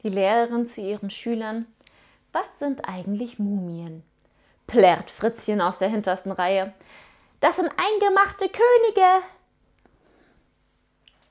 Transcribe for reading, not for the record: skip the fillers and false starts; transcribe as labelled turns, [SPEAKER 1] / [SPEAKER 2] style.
[SPEAKER 1] Die Lehrerin zu ihren Schülern: Was sind eigentlich Mumien? Plärrt Fritzchen aus der hintersten Reihe: Das sind eingemachte Könige.